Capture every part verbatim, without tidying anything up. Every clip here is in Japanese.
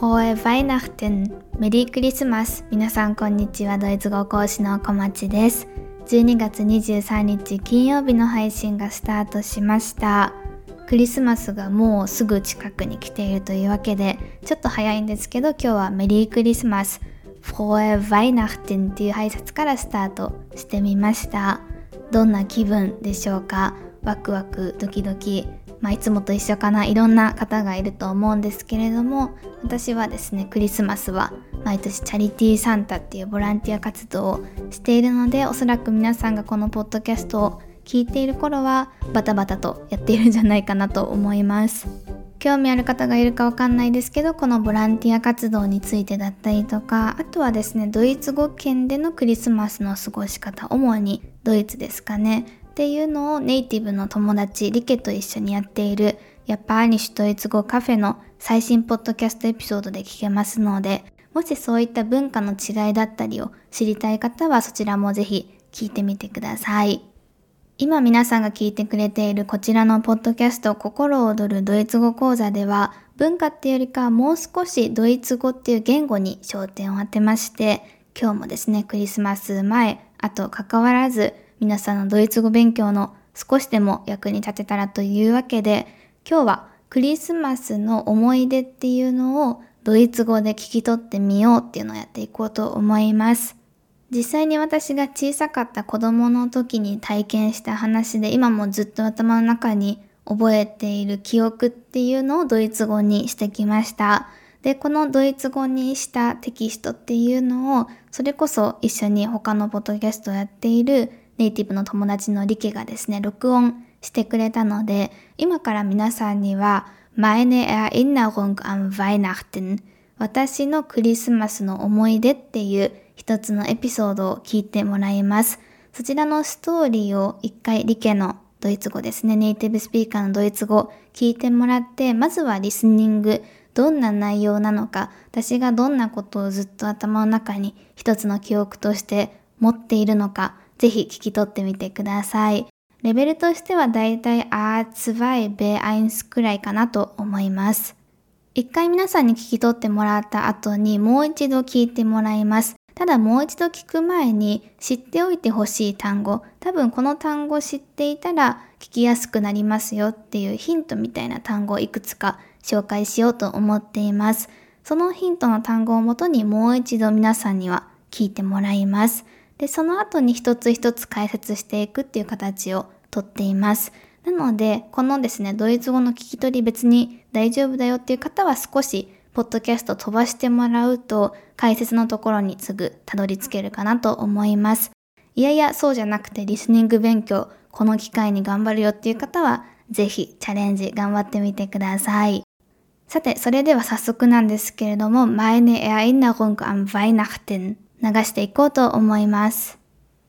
Frohe Weihnachten! メリークリスマス。皆さんこんにちは。ドイツ語講師の小町です。じゅうにがつにじゅうさんにち金曜日の配信がスタートしました。クリスマスがもうすぐ近くに来ているというわけで、ちょっと早いんですけど、今日はメリークリスマス Frohe Weihnachten っていう挨拶からスタートしてみました。どんな気分でしょうか？ワクワクドキドキ、まあ、いつもと一緒かな。いろんな方がいると思うんですけれども、私はですね、クリスマスは毎年チャリティーサンタっていうボランティア活動をしているので、おそらく皆さんがこのポッドキャストを聞いている頃はバタバタとやっているんじゃないかなと思います。興味ある方がいるかわかんないですけど、このボランティア活動についてだったりとか、あとはですね、ドイツ語圏でのクリスマスの過ごし方、主にドイツですかねっていうのをネイティブの友達リケと一緒にやっているヤッパーニシュドイツ語カフェの最新ポッドキャストエピソードで聞けますので、もしそういった文化の違いだったりを知りたい方はそちらもぜひ聞いてみてください。今皆さんが聞いてくれているこちらのポッドキャスト心躍るドイツ語講座では、文化っていうよりかもう少しドイツ語っていう言語に焦点を当てまして、今日もですね、クリスマス前、あと関わらず皆さんのドイツ語勉強の少しでも役に立てたらというわけで、今日はクリスマスの思い出っていうのをドイツ語で聞き取ってみようっていうのをやっていこうと思います。実際に私が小さかった子供の時に体験した話で、今もずっと頭の中に覚えている記憶っていうのをドイツ語にしてきました。で、このドイツ語にしたテキストっていうのを、それこそ一緒に他のポッドキャストをやっているネイティブの友達のリケがですね、録音してくれたので、今から皆さんには Meine Erinnerung an Weihnachten、 私のクリスマスの思い出っていう一つのエピソードを聞いてもらいます。そちらのストーリーを一回リケのドイツ語ですね、ネイティブスピーカーのドイツ語聞いてもらって、まずはリスニング、どんな内容なのか、私がどんなことをずっと頭の中に一つの記憶として持っているのか、ぜひ聞き取ってみてください。レベルとしてはだいたい エーに、ビーワン くらいかなと思います。一回皆さんに聞き取ってもらった後にもう一度聞いてもらいます。ただもう一度聞く前に知っておいてほしい単語、多分この単語知っていたら聞きやすくなりますよっていうヒントみたいな単語をいくつか紹介しようと思っています。そのヒントの単語をもとにもう一度皆さんには聞いてもらいます。で、その後に一つ一つ解説していくっていう形をとっています。なので、このですね、ドイツ語の聞き取り別に大丈夫だよっていう方は少しポッドキャスト飛ばしてもらうと解説のところにすぐたどり着けるかなと思います。いやいや、そうじゃなくてリスニング勉強、この機会に頑張るよっていう方はぜひチャレンジ頑張ってみてください。さて、それでは早速なんですけれども、Meine Erinnerung an Weihnachten流していこうと思います。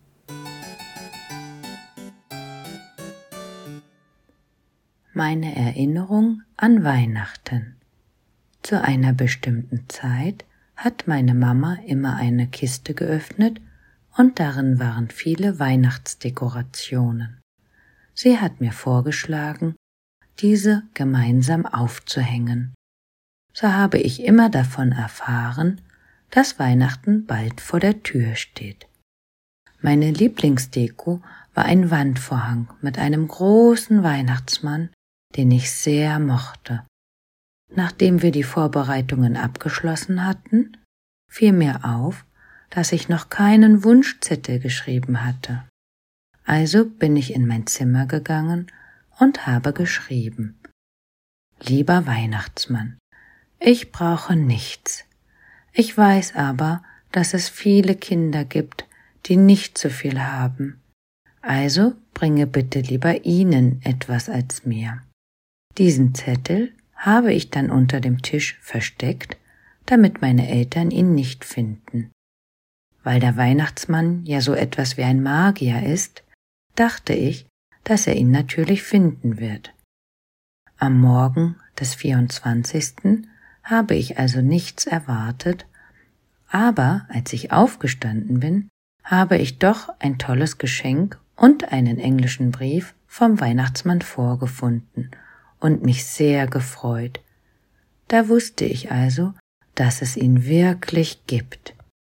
Meine Erinnerung an Weihnachten. Zu einer bestimmten Zeit hat meine Mama immer eine Kiste geöffnet und darin waren viele Weihnachtsdekorationen. Sie hat mir vorgeschlagen, diese gemeinsam aufzuhängen. So habe ich immer davon erfahren, dass Weihnachten bald vor der Tür steht. Meine Lieblingsdeko war ein Wandvorhang mit einem großen Weihnachtsmann, den ich sehr mochte. Nachdem wir die Vorbereitungen abgeschlossen hatten, fiel mir auf, dass ich noch keinen Wunschzettel geschrieben hatte. Also bin ich in mein Zimmer gegangen und habe geschrieben: Lieber Weihnachtsmann, ich brauche nichts. Ich weiß aber, dass es viele Kinder gibt, die nicht so viel haben. Also bringe bitte lieber ihnen etwas als mir. Diesen Zettel habe ich dann unter dem Tisch versteckt, damit meine Eltern ihn nicht finden. Weil der Weihnachtsmann ja so etwas wie ein Magier ist, dachte ich, dass er ihn natürlich finden wird. Am Morgen des vierundzwanzigsten habe ich also nichts erwartet, aber als ich aufgestanden bin, habe ich doch ein tolles Geschenk und einen englischen Brief vom Weihnachtsmann vorgefunden und mich sehr gefreut. Da wusste ich also, dass es ihn wirklich gibt。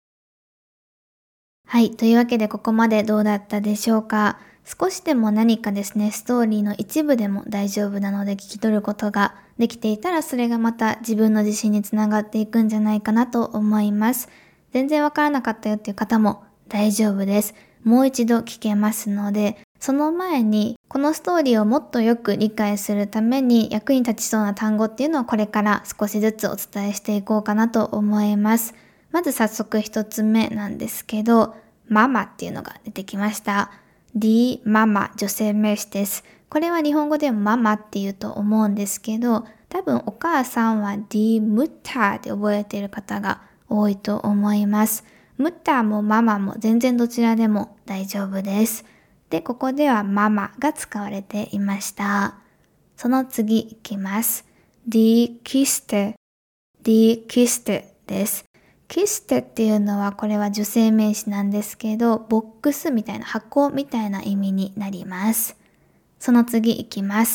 はい。というわけでここまでどうだったでしょうか。少しでも何かですね、ストーリーの一部でも大丈夫なので聞き取ることができていたら、それがまた自分の自信につながっていくんじゃないかなと思います。全然わからなかったよっていう方も大丈夫です。もう一度聞けますので、その前にこのストーリーをもっとよく理解するために役に立ちそうな単語っていうのをこれから少しずつお伝えしていこうかなと思います。まず早速一つ目なんですけど、ママっていうのが出てきました。die ママ、女性名詞です。これは日本語でもママって言うと思うんですけど、多分お母さんは die Mutter で覚えている方が多いと思います。ムッターもママも全然どちらでも大丈夫です。で、ここではママが使われていました。その次いきます。die Kiste、die Kiste です。キステっていうのはこれは女性名詞なんですけど、ボックスみたいな箱みたいな意味になります。その次いきます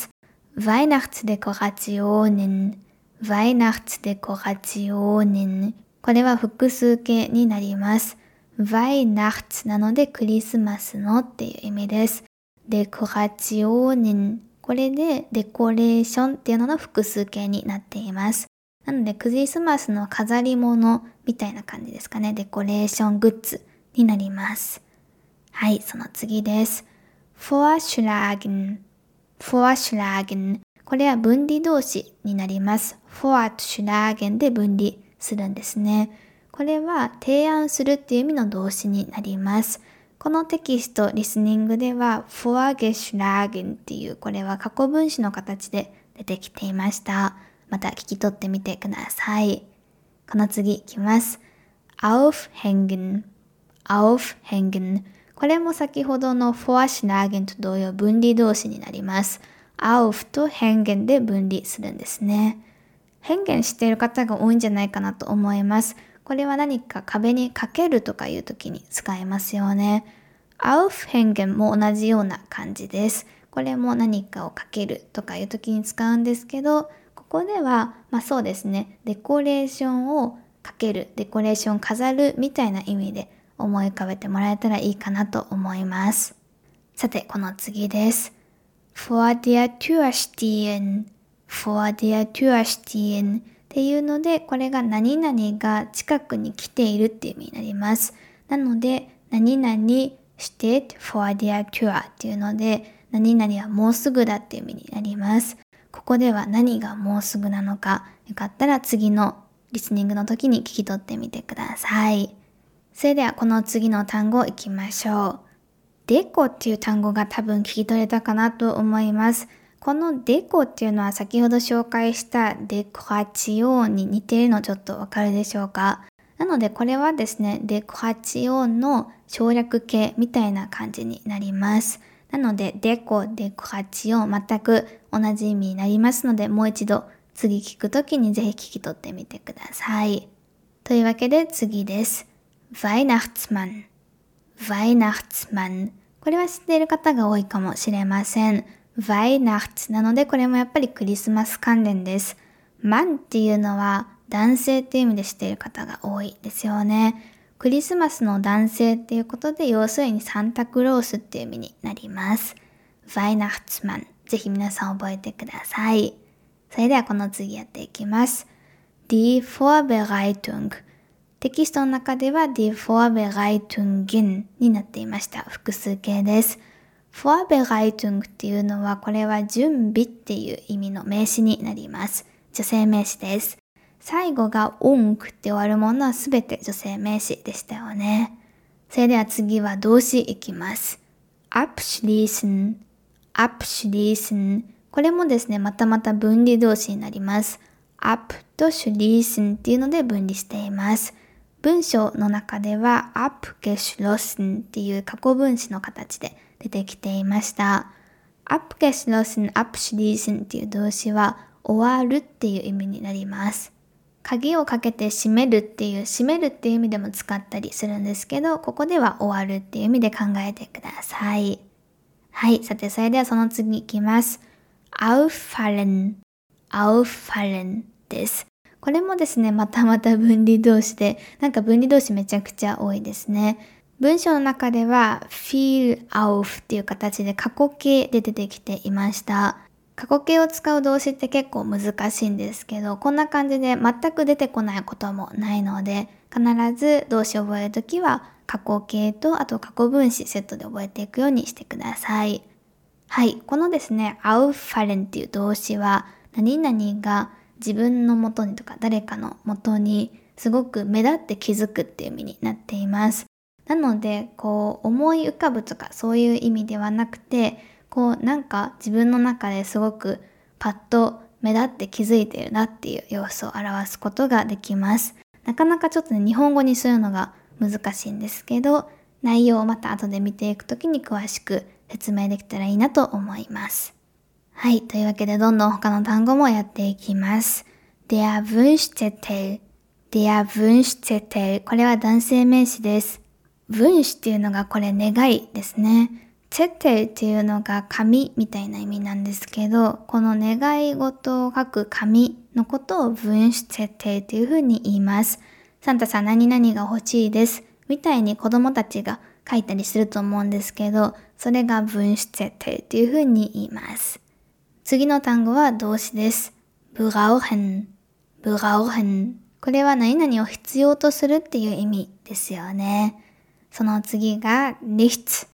。Weihnachtsdekorationen、Weihnachtsdekorationen。これは複数形になります。Weihnachts なのでクリスマスのっていう意味です。Dekorationen。これでデコレーションっていうのの複数形になっています。なのでクリスマスの飾り物みたいな感じですかね。デコレーショングッズになります。はい、その次です。Vorschlagen、Vorschlagen。これは分離動詞になります。Vorschlagen で分離するんですね。これは提案するっていう意味の動詞になります。このテキスト、リスニングでは Vorgeschlagen っていうこれは過去分詞の形で出てきていました。また聞き取ってみてください。この次いきます。Aufhängen、Aufhängen。これも先ほどの Vorschlagen と同様分離動詞になります。Auf と Hängen で分離するんですね。変幻している方が多いんじゃないかなと思います。これは何か壁にかけるとかいう時に使えますよね。Aufhängen も同じような感じです。これも何かをかけるとかいう時に使うんですけど、ここでは、まあそうですね、デコレーションをかける、デコレーション飾るみたいな意味で思い浮かべてもらえたらいいかなと思います。さて、この次です。Vor der Tür stehen、vor der Tür stehen っていうので、これが何々が近くに来ているっていう意味になります。なので、何々 steht vor der Tür っていうので、何々はもうすぐだっていう意味になります。ここでは何がもうすぐなのか、よかったら次のリスニングの時に聞き取ってみてください。それではこの次の単語いきましょう。デコっていう単語が多分聞き取れたかなと思います。このデコっていうのは先ほど紹介したデコラチオーンに似ているのちょっとわかるでしょうか。なのでこれはですね、デコラチオーンの省略形みたいな感じになります。なのでデコ、デコラチオン全く同じ意味になりますので、もう一度次聞くときにぜひ聞き取ってみてください。というわけで次です。Weihnachtsmann、Weihnachtsmann。これは知っている方が多いかもしれません。Weihnachts なのでこれもやっぱりクリスマス関連です。Mann っていうのは男性っていう意味で知っている方が多いですよね。クリスマスの男性っていうことで、要するにサンタクロースっていう意味になります。Weihnachtsmann。ぜひ皆さん覚えてください。それではこの次やっていきます。Die Vorbereitung。テキストの中では die Vorbereitungen になっていました。複数形です。Vorbereitung っていうのはこれは準備っていう意味の名詞になります。女性名詞です。最後が ung って終わるものはすべて女性名詞でしたよね。それでは次は動詞いきます。abschließen、abschließen。これもですね、またまた分離動詞になります。ab と schließen っていうので分離しています。文章の中では abgeschlossen っていう過去分詞の形で出てきていました。abgeschlossen、abschließen っていう動詞は終わるっていう意味になります。鍵をかけて閉めるっていう、閉めるっていう意味でも使ったりするんですけど、ここでは終わるっていう意味で考えてください。はい、さてそれではその次いきます。auffallen、auffallen です。 これもですね、またまた分離動詞で、なんか分離動詞めちゃくちゃ多いですね。文章の中では fiel auf っていう形で過去形で出てきていました。過去形を使う動詞って結構難しいんですけど、こんな感じで全く出てこないこともないので、必ず動詞を覚えるときは過去形とあと過去分詞セットで覚えていくようにしてください。はい、このですね、auffallen っていう動詞は何々が自分の元にとか誰かの元にすごく目立って気づくっていう意味になっています。なので、こう思い浮かぶとかそういう意味ではなくて、こうなんか自分の中ですごくパッと目立って気づいているなっていう様子を表すことができます。なかなかちょっとね、日本語にするのが難しいんですけど、内容をまた後で見ていくときに詳しく説明できたらいいなと思います。はい、というわけでどんどん他の単語もやっていきます。Der Wunschzettel Der Wunschzettel これは男性名詞です。Wunsch っていうのがこれ願いですね。Zettel っていうのが紙みたいな意味なんですけど、この願い事を書く紙のことを Wunschzettel というふうに言います。サンタさん何々が欲しいですみたいに子供たちが書いたりすると思うんですけど、それが Wunschzettel というふうに言います。次の単語は動詞です。brauchen brauchen これは何々を必要とするっていう意味ですよね。その次が nichts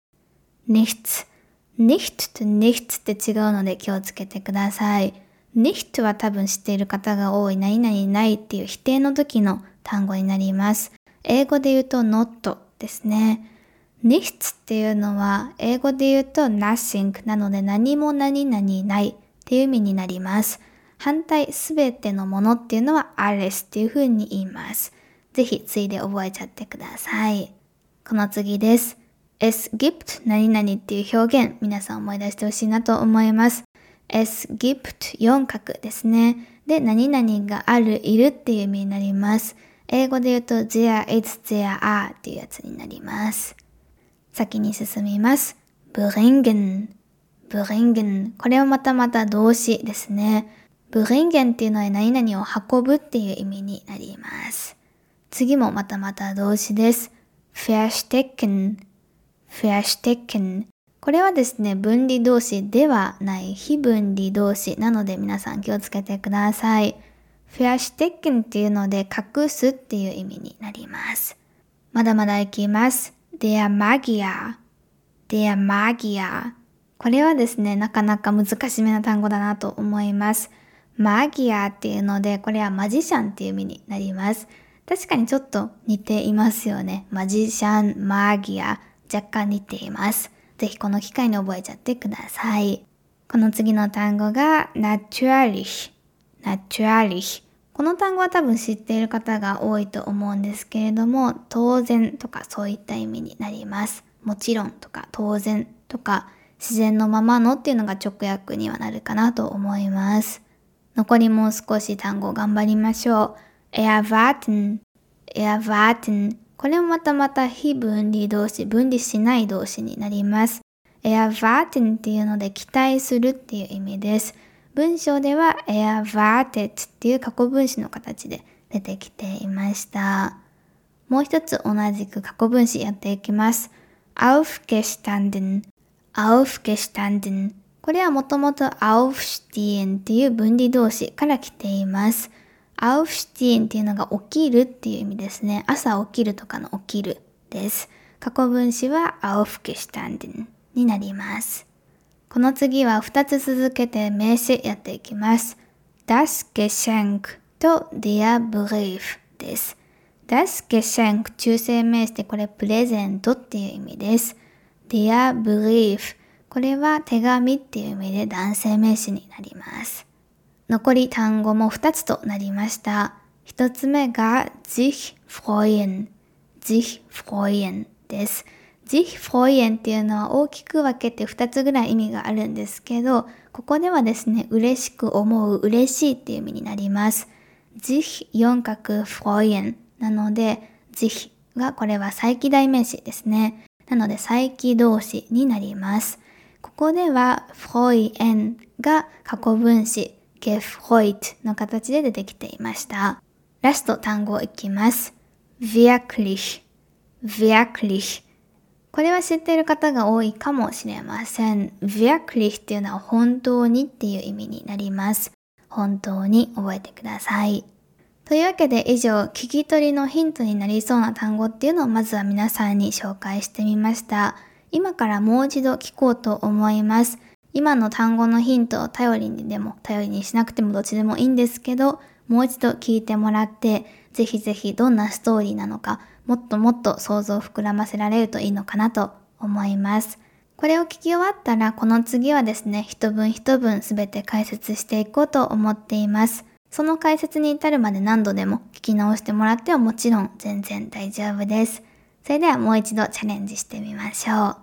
nichts nicht と nichts って違うので気をつけてください。nicht は多分知っている方が多い何々ないっていう否定の時の単語になります。英語で言うと not ですね。nichts っていうのは英語で言うと nothing なので何も何々ないっていう意味になります。反対すべてのものっていうのは alles っていう風に言います。ぜひついで覚えちゃってください。この次です。Es gibt 何々っていう表現皆さん思い出してほしいなと思います。Es gibt 四角ですね。で何々があるいるっていう意味になります。英語で言うと there is there are っていうやつになります。先に進みます。bringen bringen これはまたまた動詞ですね。bringen っていうのは何々を運ぶっていう意味になります。次もまたまた動詞です。verstecken verstecken これはですね、分離動詞ではない非分離動詞なので皆さん気をつけてください。verstecken っていうので隠すっていう意味になります。まだまだいきます。der Magier der Magier これはですね、なかなか難しめな単語だなと思います。マギアっていうので、これはマジシャンっていう意味になります。確かにちょっと似ていますよね。マジシャン、マギア、若干似ています。ぜひこの機会に覚えちゃってください。この次の単語が natürlich natürlich この単語は多分知っている方が多いと思うんですけれども、当然とかそういった意味になります。もちろんとか当然とか自然のままのっていうのが直訳にはなるかなと思います。残りもう少し単語頑張りましょう。erwarten erwarten これもまたまた非分離動詞、分離しない動詞になります。erwarten っていうので期待するっていう意味です。文章では erwartet っていう過去分詞の形で出てきていました。もう一つ同じく過去分詞やっていきます。aufgestanden aufgestanden これはもともと aufstehen っていう分離動詞から来ています。aufstehen っていうのが起きるっていう意味ですね。朝起きるとかの起きるです。過去分詞は aufgestanden になります。この次はふたつ続けて名詞やっていきます。das Geschenk と der Brief です。das Geschenk 中性名詞でこれプレゼントっていう意味です。der Brief これは手紙っていう意味で男性名詞になります。残り単語もふたつとなりました。ひとつめが sich freuen sich freuen です。sich freuen っていうのは大きく分けてふたつぐらい意味があるんですけど、ここではですね、嬉しく思う、嬉しいっていう意味になります。sich 四角 freuen なので、sich がこれは再起代名詞ですね。なので再起動詞になります。ここでは freuen が過去分詞 gefreut の形で出てきていました。ラスト単語いきます。wirklich、wirklich。これは知っている方が多いかもしれません。wirklich っていうのは本当にっていう意味になります。本当に覚えてください。というわけで以上、聞き取りのヒントになりそうな単語っていうのをまずは皆さんに紹介してみました。今からもう一度聞こうと思います。今の単語のヒントを頼りにでも頼りにしなくてもどっちでもいいんですけど、もう一度聞いてもらって、ぜひぜひどんなストーリーなのか、もっともっと想像を膨らませられるといいのかなと思います。これを聞き終わったら、この次はですね、一文一文すべて解説していこうと思っています。その解説に至るまで何度でも聞き直してもらってはもちろん全然大丈夫です。それではもう一度チャレンジしてみましょう。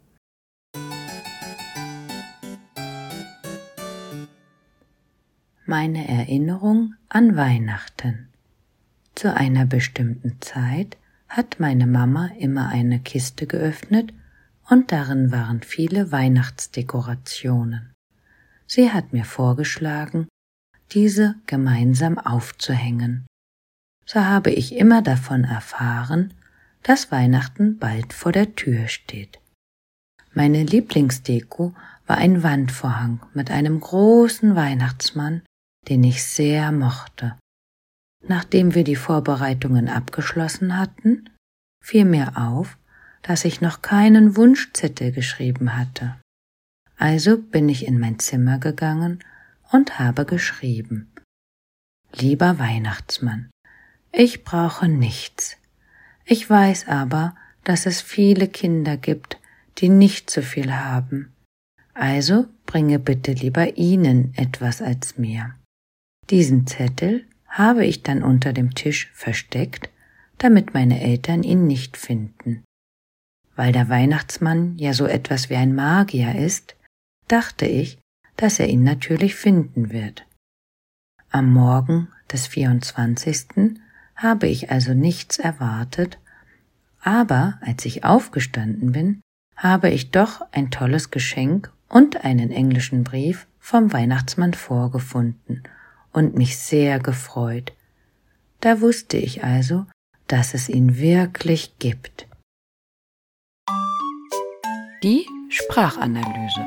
Meine Erinnerung an Weihnachten. Zu einer bestimmten Zeit hat meine Mama immer eine Kiste geöffnet und darin waren viele Weihnachtsdekorationen. Sie hat mir vorgeschlagen, diese gemeinsam aufzuhängen. So habe ich immer davon erfahren, dass Weihnachten bald vor der Tür steht. Meine Lieblingsdeko war ein Wandvorhang mit einem großen Weihnachtsmann, den ich sehr mochte. Nachdem wir die Vorbereitungen abgeschlossen hatten, fiel mir auf, dass ich noch keinen Wunschzettel geschrieben hatte. Also bin ich in mein Zimmer gegangen und habe geschrieben: Lieber Weihnachtsmann, ich brauche nichts. Ich weiß aber, dass es viele Kinder gibt, die nicht so viel haben. Also bringe bitte lieber ihnen etwas als mir. Diesen Zettel habe ich dann unter dem Tisch versteckt, damit meine Eltern ihn nicht finden. Weil der Weihnachtsmann ja so etwas wie ein Magier ist, dachte ich, dass er ihn natürlich finden wird. Am Morgen des vierundzwanzigsten habe ich also nichts erwartet, aber als ich aufgestanden bin, habe ich doch ein tolles Geschenk und einen englischen Brief vom Weihnachtsmann vorgefunden und mich sehr gefreut. Da wusste ich also, dass es ihn wirklich gibt. Die Sprachanalyse.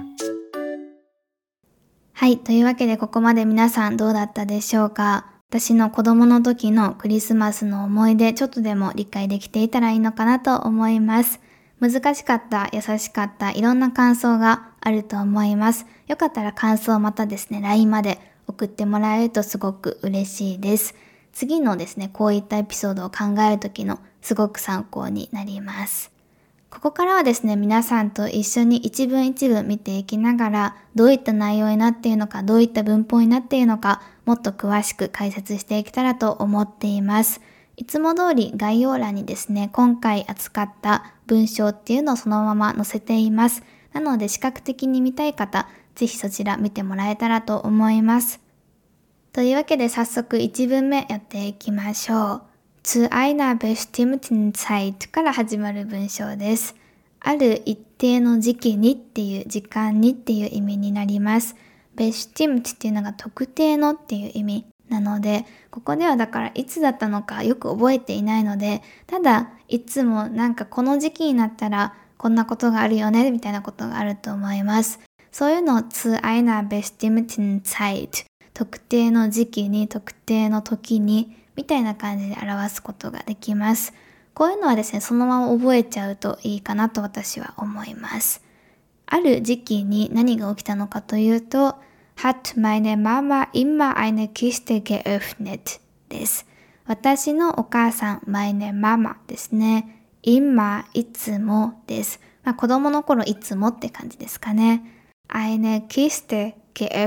はい、というわけでここまで皆さんどうだったでしょうか。私の子供の時のクリスマスの思い出、ちょっとでも理解できていたらいいのかなと思います。難しかった、優しかった、いろんな感想があると思います。よかったら感想をまたですね、ライン まで送ってもらえるとすごく嬉しいです。次のですね、こういったエピソードを考える時のすごく参考になります。ここからはですね、皆さんと一緒に一文一文見ていきながら、どういった内容になっているのか、どういった文法になっているのか、もっと詳しく解説していけたらと思っています。いつも通り概要欄にですね、今回扱った文章っていうのをそのまま載せています。なので視覚的に見たい方、ぜひそちら見てもらえたらと思います。というわけで早速いち文目やっていきましょう。zu einer bestimmten Zeit から始まる文章です。ある一定の時期にっていう時間にっていう意味になります。bestimmt っていうのが特定のっていう意味なので、ここではだからいつだったのかよく覚えていないので、ただいつもなんかこの時期になったらこんなことがあるよねみたいなことがあると思います。そういうのを zu einer bestimmten Zeit 特定の時期に特定の時にみたいな感じで表すことができます。こういうのはですね、そのまま覚えちゃうといいかなと私は思います。ある時期に何が起きたのかというと、hat meine Mama immer eine Kiste geöffnet です。私のお母さん、meine Mama ですね。immer いつもです。まあ、子供の頃いつもって感じですかね。eine Kiste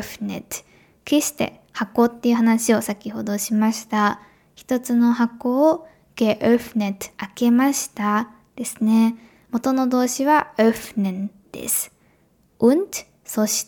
geöffnet。Kiste、箱っていう話を先ほどしました。一つの箱をgeöffnet、開けましたですね。元の動詞は öffnen です。und、そして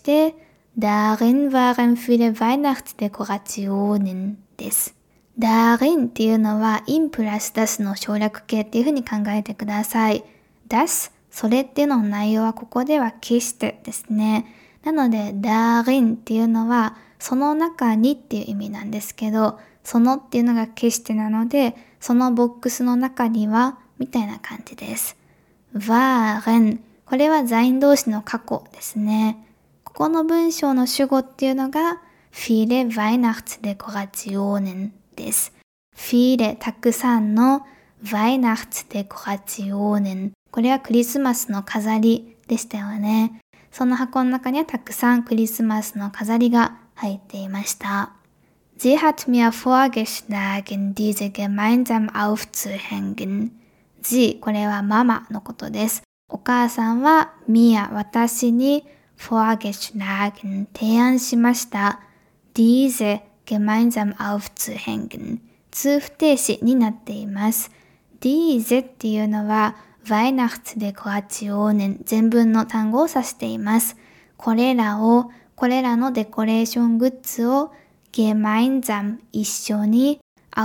、darin waren viele Weihnachtsdekorationen です。darin っていうのは in プラス das の省略形っていう風に考えてください。das、それっていうのの内容はここでは Kiste ですね。なので darin っていうのはその中にっていう意味なんですけど、そのっていうのが消してなので、そのボックスの中にはみたいな感じです。waren、これは在因動詞の過去ですね。ここの文章の主語っていうのが viele Weihnachtsdekorationen です。viele たくさんの Weihnachtsdekorationen、これはクリスマスの飾りでしたよね。その箱の中にはたくさんクリスマスの飾りが入っていました。Sie hat mir vorgeschlagen, diese gemeinsam aufzuhängen. Sie、これはママのことです。お母さんは mir、私に vorgeschlagen、提案しました。diese gemeinsam aufzuhängen、通不定詞になっています。diese っていうのはWeihnachtsdekorationen、全文の単語を指しています。これらを、これらのデコレーショングッズをgemeinsam、一緒に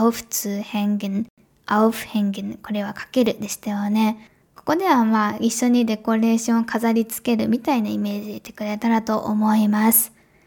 aufzuhängen、aufhängen、これはかけるでしたよね。ここではまあ一緒にデコレーションを飾り付けるみたいなイメージで言ってくれたらと思います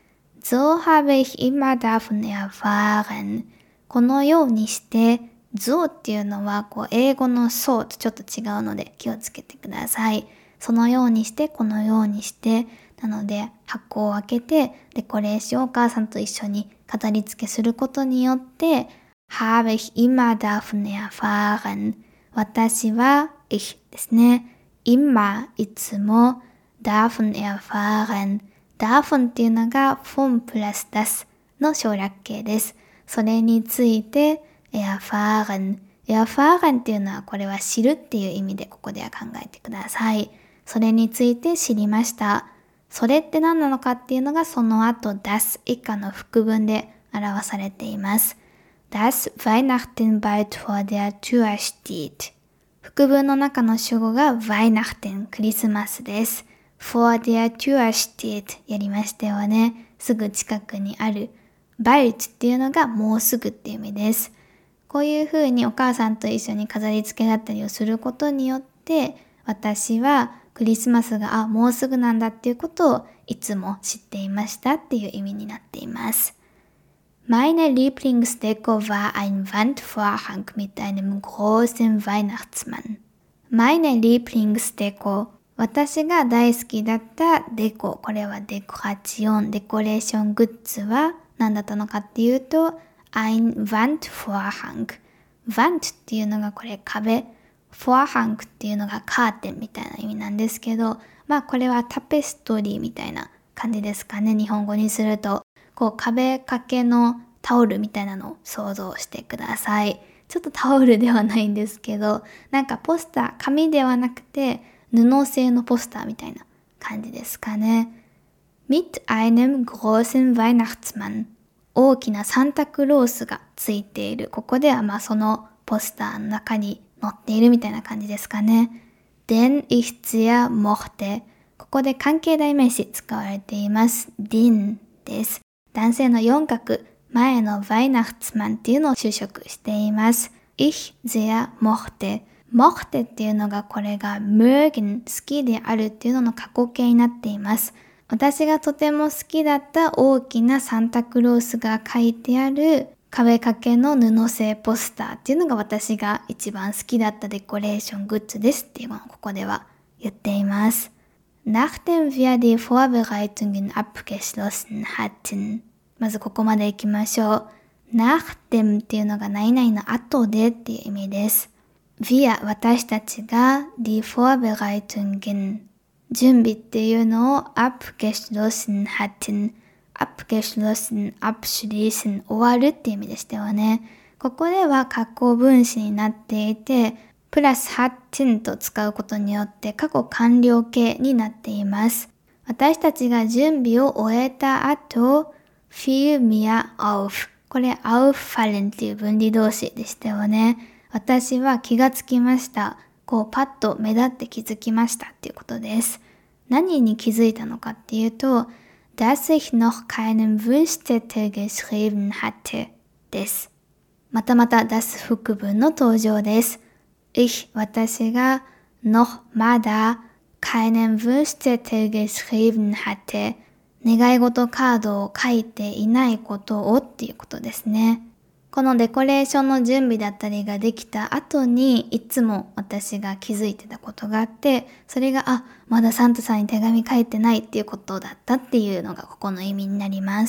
。So habe ich immer davon erfahren。このようにして、so っていうのはこう英語の so とちょっと違うので気をつけてください。そのようにして、このようにして、なので箱を開けてデコレーションをお母さんと一緒に飾り付けすることによって、habe ich immer davon erfahren。私は、ich ですね。immer、いつも、davon erfahren。davon っていうのが von plus das の省略形です。それについて、erfahren。erfahren っていうのはこれは知るっていう意味でここでは考えてください。それについて知りました。それって何なのかっていうのがその後 das 以下の副文で表されています。Das Weihnachten bald vor der Tür steht。副文の中の主語が Weihnachten、クリスマスです。vor der Tür steht やりましたよね。すぐ近くにある。bald っていうのがもうすぐっていう意味です。こういう風にお母さんと一緒に飾り付けだったりをすることによって、私はクリスマスがあもうすぐなんだっていうことをいつも知っていましたっていう意味になっています。Meine Lieblingsdeko war ein Wandvorhang mit einem großen Weihnachtsmann. Meine Lieblingsdeko、私が大好きだったデコ、これはデコラチオン、デコレーショングッズは何だったのかっていうと、ein Wandvorhang。Wand っていうのがこれ壁、Vorhang っていうのがカーテンみたいな意味なんですけど、まあこれはタペストリーみたいな感じですかね、日本語にすると。こう壁掛けのタオルみたいなのを想像してください。ちょっとタオルではないんですけど、なんかポスター、紙ではなくて布製のポスターみたいな感じですかね。mit einem großen Weihnachtsmann。大きなサンタクロースがついている。ここではまあそのポスターの中に載っているみたいな感じですかね。den ich sehr mochte。ここで関係代名詞使われています。den です。男性の四角、前の Weihnachtsmann っていうのを修飾しています。ich sehr mochte。mochte っていうのがこれが mögen、好きであるっていうのの過去形になっています。私がとても好きだった大きなサンタクロースが書いてある壁掛けの布製ポスターっていうのが私が一番好きだったデコレーショングッズですっていうのをここでは言っています。Nachdem wir die Vorbereitungen abgeschlossen hatten。まずここまで行きましょう。Nachdem っていうのが何々の後でっていう意味です。Wir 私たちが die Vorbereitungen 準備っていうのを abgeschlossen hatten。abgeschlossen、abschließen、終わるっていう意味でしたよね。ここでは過去分詞になっていて、プラス hatten と使うことによって過去完了形になっています。私たちが準備を終えた後、fiel mir auf。これ auffallen っていう分離動詞でしたよね。私は気がつきました。こうパッと目立って気づきましたっていうことです。何に気づいたのかっていうと、dass ich noch keinen Wunschzettel geschrieben hatte です。またまた das 副文の登場です。ich 私が noch まだ keinen Wunschzettel geschrieben hatte 願い事カードを書いていないことをっていうことですね。このデコレーションの準備だったりができた後にいつも私が気づいてたことがあって、それがあ、まだサンタさんに手紙書いてないっていうことだったっていうのがここの意味になります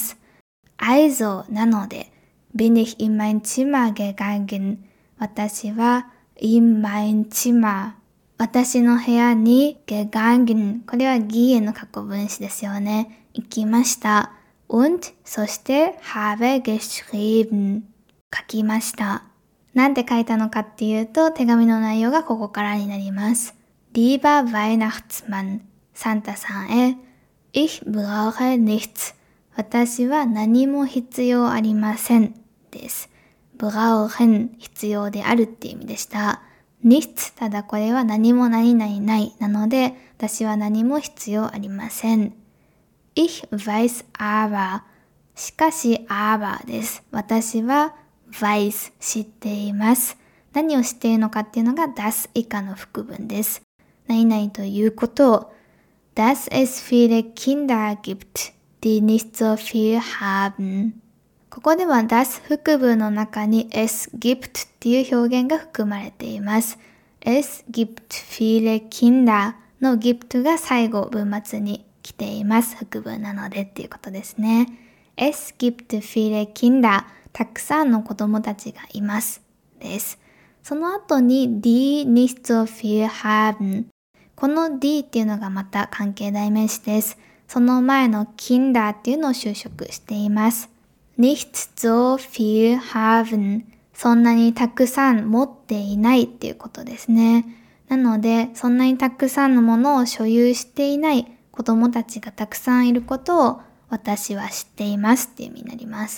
。Also なので、bin ich in mein Zimmer gegangen。私は in mein Zimmer。私の部屋に gegangen。これはギエの過去分詞ですよね。行きました。und そして habe geschrieben。書きました。なんて書いたのかっていうと、手紙の内容がここからになります。Lieber Weihnachtsmann、サンタさんへ。Ich brauche nichts。私は何も必要ありません。です。brauchen 必要であるっていう意味でした。nichts ただこれは何も何々ないなので、私は何も必要ありません。Ich weiß aber しかし aber です。私はweiß 知っています。何を知っているのかっていうのが das 以下の副文です。何々ということを dass es viele Kinder gibt, die nicht so viel haben。ここでは das 副文の中に es gibt っていう表現が含まれています。es gibt viele Kinder の gibt が最後文末に来ています。副文なのでっていうことですね。es gibt viele Kinderたくさんの子供たちがいます。です。その後に die nicht so viel haben。この die っていうのがまた関係代名詞です。その前の Kinder っていうのを修飾しています。nicht so viel haben。そんなにたくさん持っていないっていうことですね。なので、そんなにたくさんのものを所有していない子供たちがたくさんいることを私は知っていますっていう意味になります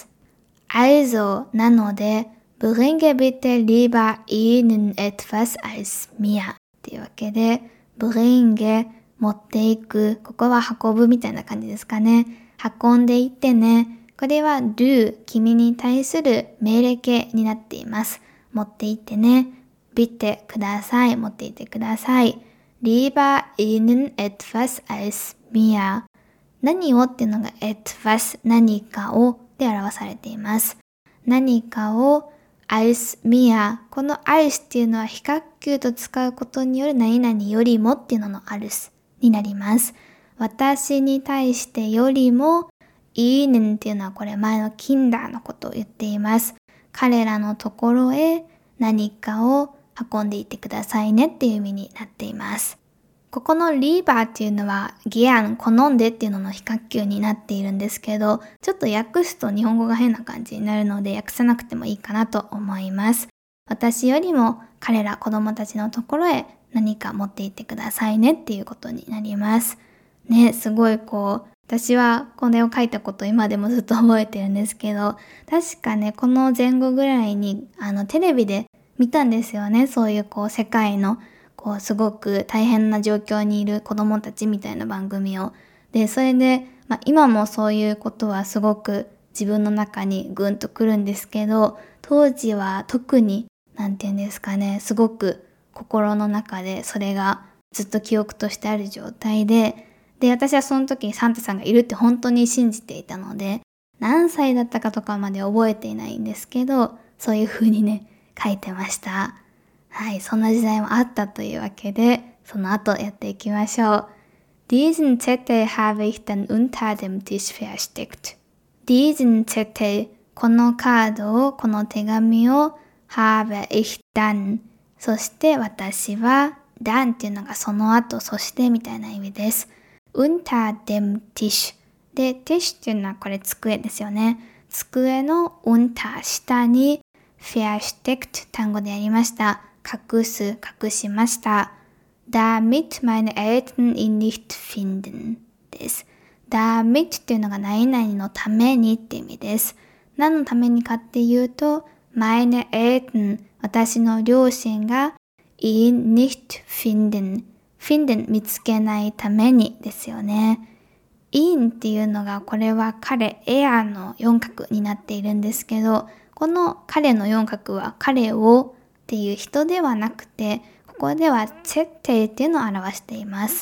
。Also なので、bringe bitte lieber ihnen etwas als mir っていうわけで、bringe 持っていく、ここは運ぶみたいな感じですかね。運んでいってね。これは do 君に対する命令形になっています。持っていってね。bitte ください。持っていってください。lieber ihnen etwas als mir。何をっていうのが etwas 何かをで表されています。何かを als mir。この als っていうのは非角球と使うことによる何々よりもっていうのの als になります。私に対してよりもihnen っていうのはこれ前の Kinder のことを言っています。彼らのところへ何かを運んでいってくださいねっていう意味になっています。ここの lieber っていうのは gern 好んでっていうのの非角球になっているんですけど、ちょっと訳すと日本語が変な感じになるので訳さなくてもいいかなと思います。私よりも彼ら子供たちのところへ何か持っていってくださいねっていうことになります。ね、すごいこう私はこれを書いたこと今でもずっと覚えてるんですけど、確かね、この前後ぐらいにあのテレビで見たんですよね。そういうこう世界のこうすごく大変な状況にいる子供たちみたいな番組を。で、それで、まあ、今もそういうことはすごく自分の中にぐんとくるんですけど、当時は特に、なんていうんですかね、すごく心の中でそれがずっと記憶としてある状態で、で、私はその時にサンタさんがいるって本当に信じていたので、何歳だったかとかまで覚えていないんですけど、そういう風にね、書いてました。はい、そんな時代もあったというわけで、その後やっていきましょう。Diesen Zettel habe ich dann unter dem Tisch versteckt. Diesen Zettel、このカードを、この手紙を habe ich dann。そして私は、dann っていうのがその後、そしてみたいな意味です。unter dem Tisch。で、Tisch っていうのはこれ机ですよね。机の unter 下に versteckt 単語でやりました。隠す、隠しました。damit meine Eltern ihn nicht finden です。damit っていうのが何々のためにって意味です。何のためにかっていうと、meine Eltern 私の両親が ihn nicht finden finden 見つけないためにですよね。ihn っていうのがこれは彼、er の四角になっているんですけど、この彼の四角は彼をっていう人ではなくて、ここでは Zettel っていうのを表しています。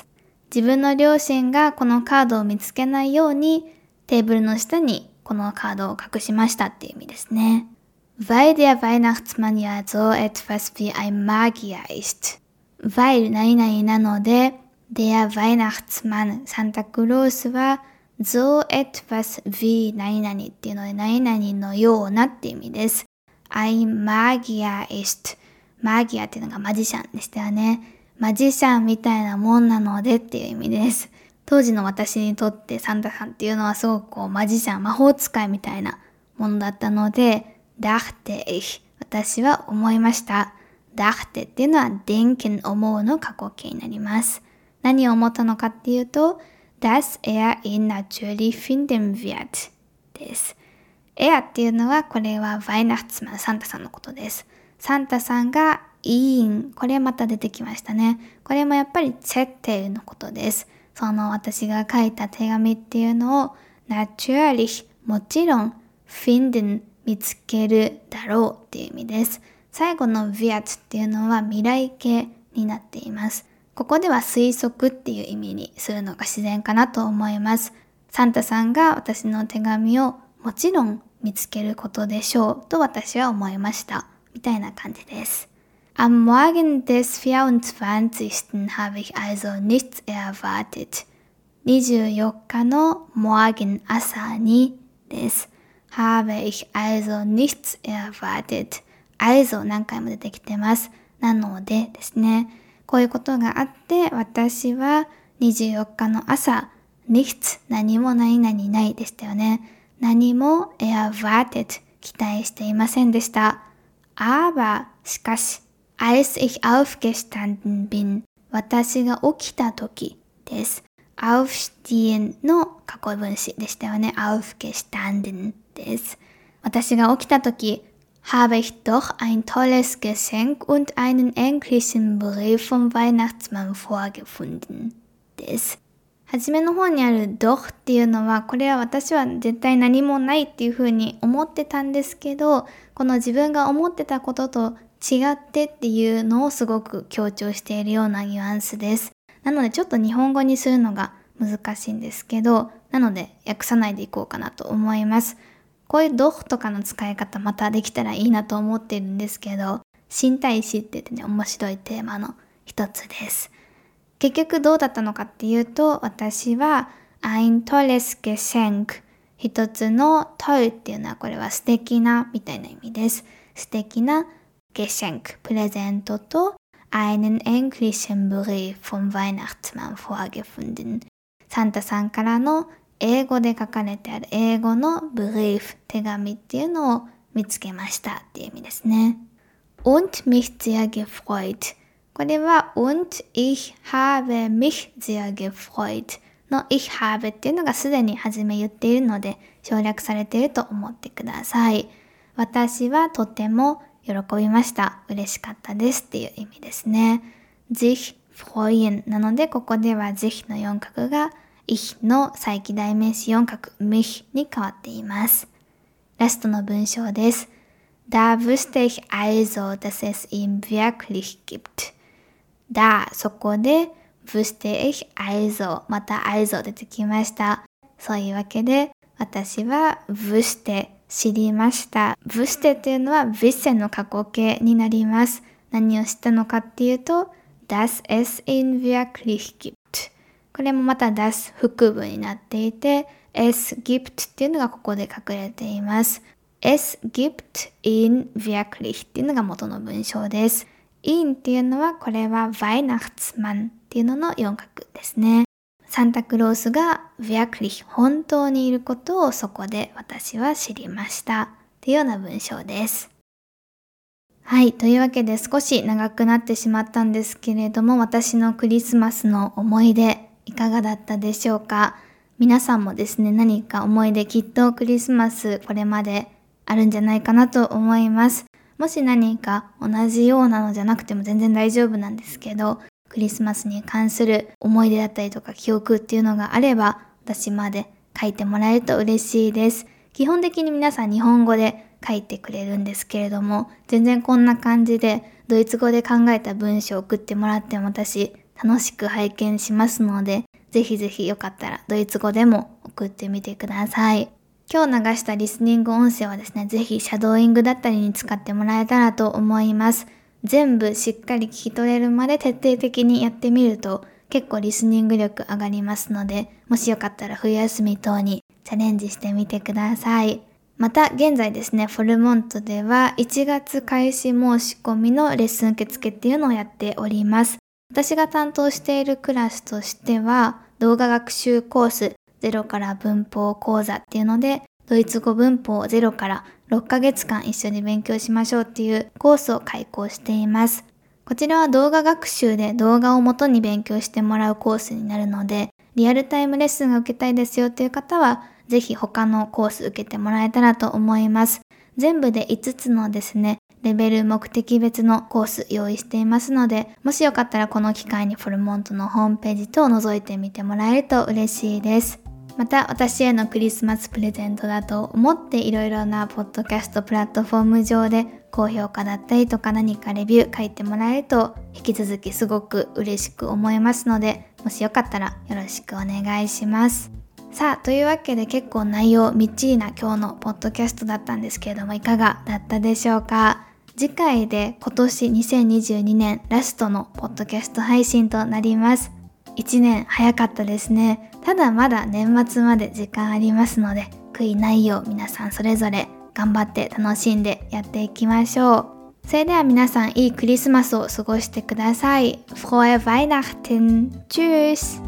自分の両親がこのカードを見つけないようにテーブルの下にこのカードを隠しましたっていう意味ですね。Weil der Weihnachtsmann ja so etwas wie ein Magier ist. Weil 何々なので、der Weihnachtsmann サンタクロースは so etwas wie 何々っていうので何々のようなっていう意味です。ein Magier ist. マギアっていうのがマジシャンでしたよね。マジシャンみたいなもんなのでっていう意味です。当時の私にとってサンタさんっていうのはすごくこうマジシャン、魔法使いみたいなものだったので、dachte ich 私は思いました。dachte っていうのは denken 思うの過去形になります。何を思ったのかっていうと、dass er ihn natürlich finden wird です。er っていうのはこれは Weihnachtsmann サンタさんのことです。サンタさんが ihn これまた出てきましたね。これもやっぱり Zettel のことです。その私が書いた手紙っていうのを natürlich もちろん finden 見つけるだろうっていう意味です。最後の wird っていうのは未来形になっています。ここでは推測っていう意味にするのが自然かなと思います。サンタさんが私の手紙をもちろん見つけることでしょうと私は思いました。みたいな感じです。Am Morgen des vierundzwanzigsten habe ich also nichts erwartet. にじゅうよっかの Morgen 朝にです。habe ich also nichts erwartet. also 何回も出てきてます。なのでですね。こういうことがあって、私はにじゅうよっかの朝、nichts 何も何々ないでしたよね。何も erwartet 期待していませんでした。aber しかし、als ich aufgestanden bin 私が起きた時です。aufstehen の過去分詞でしたよね。aufgestanden です。私が起きた時、habe ich doch ein tolles Geschenk und einen englischen Brief vom Weihnachtsmann vorgefunden です。はじめの方にある doch っていうのは、これは私は絶対何もないっていうふうに思ってたんですけど、この自分が思ってたことと違ってっていうのをすごく強調しているようなニュアンスです。なのでちょっと日本語にするのが難しいんですけど、なので訳さないでいこうかなと思います。こういう doch とかの使い方またできたらいいなと思ってるんですけど、新体詞って言ってね、面白いテーマの一つです。結局どうだったのかっていうと、私は ein tolles Geschenk 一つの toll っていうのはこれは素敵なみたいな意味です。素敵な Geschenk プレゼントと einen englischen Brief vom Weihnachtsmann vorgefunden サンタさんからの英語で書かれてある英語の Brief 手紙っていうのを見つけましたっていう意味ですね。und mich sehr gefreut これは und ich habe mich sehr gefreut の ich habe っていうのがすでに初め言っているので省略されていると思ってください。私はとても喜びました。嬉しかったですっていう意味ですね。sich freuen なのでここでは sich の四角が ich の再起代名詞四角 mich に変わっています。ラストの文章です。Da wusste ich also, dass es ihn wirklich gibt. Da そこで wusste ich also また also 出てきました。そういうわけで私は wusste 知りました。wusste っていうのは wissen の過去形になります。何を知ったのかっていうと dass es ihn wirklich gibt。これもまた das 副文になっていて es gibt っていうのがここで隠れています。es gibt ihn wirklich っていうのが元の文章です。ihn っていうのはこれは Weihnachtsmann っていうのの四角ですね。サンタクロースが wirklich 本当にいることをそこで私は知りましたっていうような文章です。はい、というわけで少し長くなってしまったんですけれども、私のクリスマスの思い出いかがだったでしょうか。皆さんもですね、何か思い出きっとクリスマスこれまであるんじゃないかなと思います。もし何か同じようなのじゃなくても全然大丈夫なんですけど、クリスマスに関する思い出だったりとか記憶っていうのがあれば、私まで書いてもらえると嬉しいです。基本的に皆さん日本語で書いてくれるんですけれども、全然こんな感じでドイツ語で考えた文章を送ってもらっても私楽しく拝見しますので、ぜひぜひよかったらドイツ語でも送ってみてください。今日流したリスニング音声はですね、ぜひシャドーイングだったりに使ってもらえたらと思います。全部しっかり聞き取れるまで徹底的にやってみると結構リスニング力上がりますので、もしよかったら冬休み等にチャレンジしてみてください。また現在ですね、フォルモントではいちがつ開始申し込みのレッスン受付っていうのをやっております。私が担当しているクラスとしては、動画学習コースゼロから文法講座っていうので、ドイツ語文法ゼロからろっかげつかん一緒に勉強しましょうっていうコースを開講しています。こちらは動画学習で動画を元に勉強してもらうコースになるので、リアルタイムレッスンが受けたいですよっていう方は、ぜひ他のコース受けてもらえたらと思います。全部でいつつのですね、レベル目的別のコース用意していますので、もしよかったらこの機会にフォルモントのホームページ等を覗いてみてもらえると嬉しいです。また私へのクリスマスプレゼントだと思っていろいろなポッドキャストプラットフォーム上で高評価だったりとか何かレビュー書いてもらえると引き続きすごく嬉しく思いますので、もしよかったらよろしくお願いします。さあ、というわけで結構内容みっちりな今日のポッドキャストだったんですけれども、いかがだったでしょうか。次回で今年にせんにじゅうにねんラストのポッドキャスト配信となります。いちねん早かったですね。ただまだ年末まで時間ありますので、悔いないよう皆さんそれぞれ頑張って楽しんでやっていきましょう。それでは皆さんいいクリスマスを過ごしてください。Frohe Weihnachten! Tschüss!